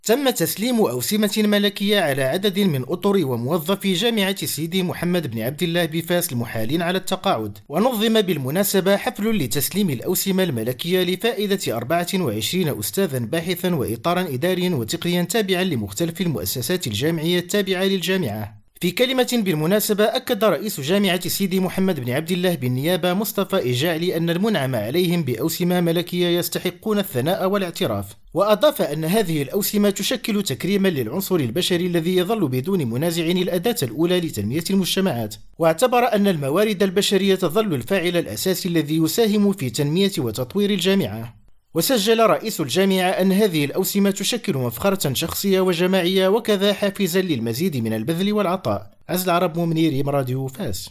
تم تسليم أوسمة ملكية على عدد من أطر وموظفي جامعة سيدي محمد بن عبد الله بفاس المحالين على التقاعد. ونظم بالمناسبة حفل لتسليم الأوسمة الملكية لفائدة 24 أستاذا باحثا وإطارا إداريا وتقنيا تابعا لمختلف المؤسسات الجامعية التابعة للجامعة. في كلمة بالمناسبة، أكد رئيس جامعة سيدي محمد بن عبد الله بالنيابة مصطفى إجاعلي أن المنعم عليهم بأوسمة ملكية يستحقون الثناء والاعتراف، وأضاف أن هذه الأوسمة تشكل تكريما للعنصر البشري الذي يظل بدون منازع الأداة الأولى لتنمية المجتمعات، واعتبر أن الموارد البشرية تظل الفاعل الأساسي الذي يساهم في تنمية وتطوير الجامعة. وسجل رئيس الجامعة أن هذه الأوسمة تشكل مفخرة شخصية وجماعية وكذا حافزا للمزيد من البذل والعطاء. عز العرب منير، راديو فاس.